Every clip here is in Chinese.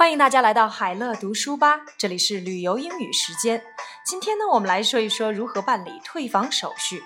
欢迎大家来到海乐读书吧，这里是旅游英语时间。今天呢，我们来说一说如何办理退房手续。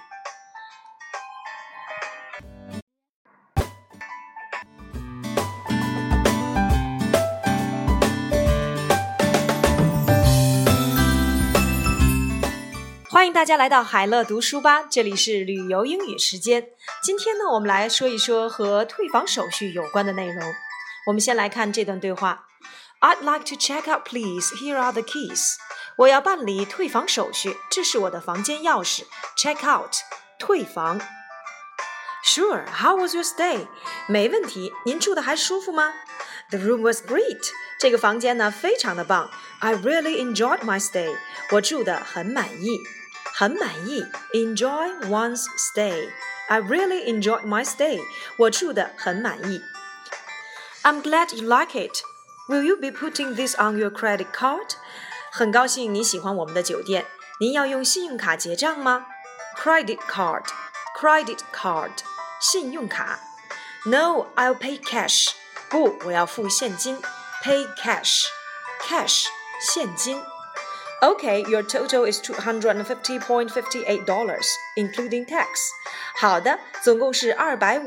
欢迎大家来到海乐读书吧，这里是旅游英语时间。今天呢，我们来说一说和退房手续有关的内容。我们先来看这段对话。I'd like to check out, please. Here are the keys. 我要办理退房手续，这是我的房间钥匙。Check out, 退房。Sure, how was your stay? 没问题，您住的还舒服吗？ The room was great. 这个房间呢，非常的棒。I really enjoyed my stay. 我住得很满意。很满意 Enjoy one's stay. I really enjoyed my stay. 我住得很满意。I'm glad you like it.Will you be putting this on your credit card? 很高兴你喜欢我们的酒店。您要用信用卡结账吗？ Credit card, credit card, 信用卡。No, I'll pay cash. 不，我要付现金。Pay cash, cash, 现金。Okay, your total is $250.58, including tax. 好的，总共是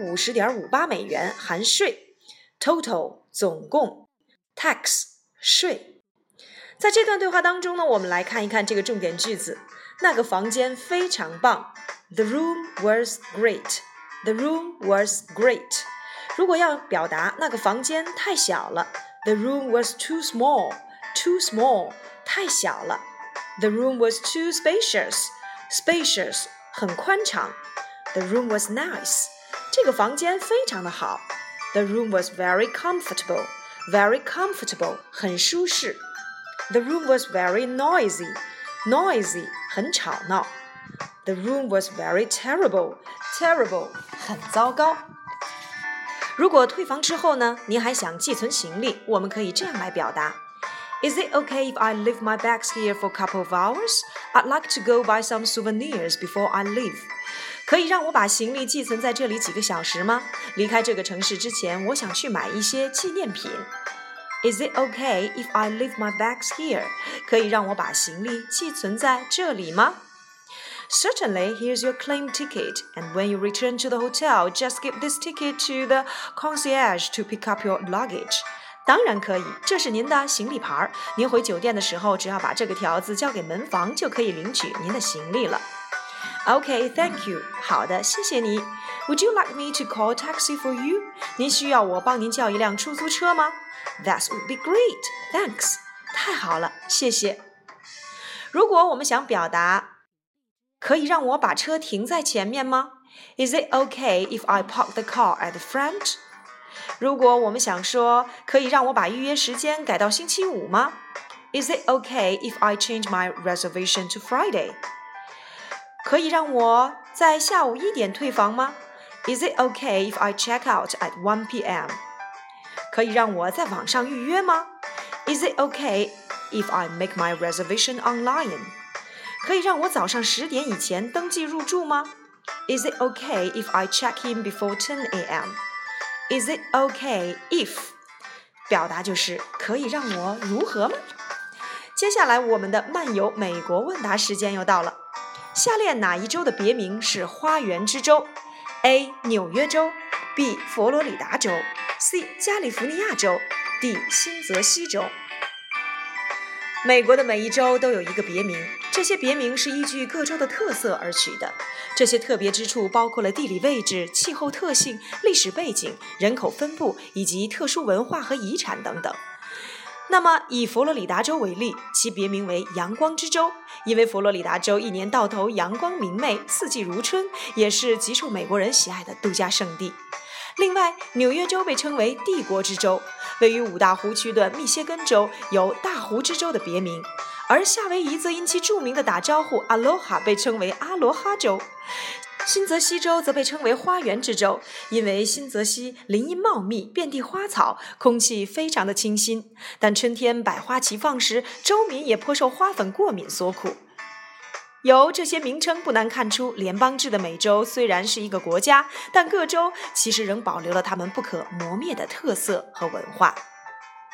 250.58美元，含税。Total, 总共。Tax 税。在这段对话当中呢，我们来看一看这个重点句子。那个房间非常棒。The room was great. The room was great. 如果要表达那个房间太小了 The room was too small. Too small. 太小了。The room was too spacious. Spacious. 很宽敞。The room was nice. 这个房间非常的好。The room was very comfortable.Very comfortable, 很舒适。The room was very noisy. Noisy, 很吵闹。The room was very terrible. Terrible, 很糟糕。如果退房之后呢，您还想寄存行李，我们可以这样来表达。Is it okay if I leave my bags here for a couple of hours? I'd like to go buy some souvenirs before I leave.可以让我把行李寄存在这里几个小时吗？离开这个城市之前，我想去买一些纪念品。Is it okay if I leave my bags here? 可以让我把行李寄存在这里吗？ Certainly, here's your claim ticket, and when you return to the hotel, just give this ticket to the concierge to pick up your luggage. 当然可以，这是您的行李牌，您回酒店的时候，只要把这个条子交给门房，就可以领取您的行李了。Okay, thank you. 好的，谢谢你。Would you like me to call a taxi for you? 您需要我帮您叫一辆出租车吗？ That would be great. Thanks. 太好了，谢谢。如果我们想表达，可以让我把车停在前面吗？ Is it okay if I park the car at the front? 如果我们想说，可以让我把预约时间改到星期五吗？ Is it okay if I change my reservation to Friday?可以让我在下午1点退房吗？ Is it okay if I check out at 1 p.m.? 可以让我在网上预约吗？ Is it okay if I make my reservation online? 可以让我早上10点以前登记入住吗？ Is it okay if I check in before 10 a.m.? Is it okay if? 表达就是可以让我如何吗？接下来我们的漫游美国问答时间又到了。下列哪一州的别名是花园之州 ？A. 纽约州 B. 佛罗里达州 C. 加利福尼亚州 D. 新泽西州。美国的每一州都有一个别名，这些别名是依据各州的特色而取的。这些特别之处包括了地理位置、气候特性、历史背景、人口分布以及特殊文化和遗产等等。那么以佛罗里达州为例，其别名为阳光之州，因为佛罗里达州一年到头阳光明媚，四季如春，也是极受美国人喜爱的度假胜地。另外，纽约州被称为帝国之州，位于五大湖区的密歇根州有大湖之州的别名，而夏威夷则因其著名的打招呼 Aloha 被称为阿罗哈州。新泽西州则被称为花园之州，因为新泽西林荫茂密，遍地花草，空气非常的清新。但春天百花齐放时，州民也颇受花粉过敏所苦。由这些名称不难看出，联邦制的美洲虽然是一个国家，但各州其实仍保留了他们不可磨灭的特色和文化。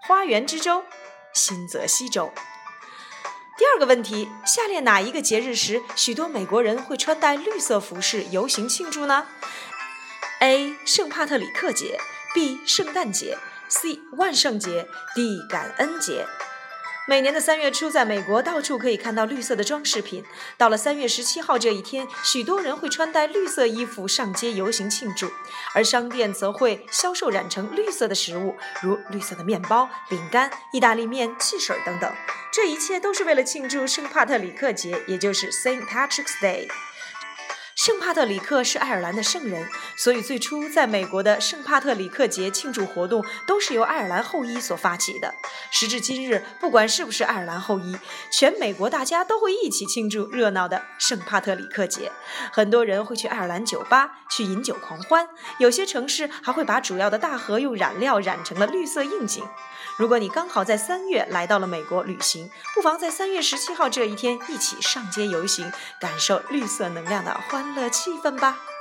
花园之州，新泽西州。第二个问题，下列哪一个节日时，许多美国人会穿戴绿色服饰游行庆祝呢？ A. 圣帕特里克节 B. 圣诞节 C. 万圣节 D. 感恩节。每年的3月初，在美国到处可以看到绿色的装饰品。到了3月17号这一天，许多人会穿戴绿色衣服上街游行庆祝，而商店则会销售染成绿色的食物，如绿色的面包、饼干、意大利面、汽水等等。这一切都是为了庆祝圣帕特里克节，也就是 St. Patrick's Day。圣帕特里克是爱尔兰的圣人，所以最初在美国的圣帕特里克节庆祝活动都是由爱尔兰后裔所发起的。时至今日，不管是不是爱尔兰后裔，全美国大家都会一起庆祝热闹的圣帕特里克节。很多人会去爱尔兰酒吧去饮酒狂欢，有些城市还会把主要的大河用染料染成了绿色印景。如果你刚好在3月来到了美国旅行，不妨在3月17号这一天一起上街游行，感受绿色能量的欢乐气氛吧。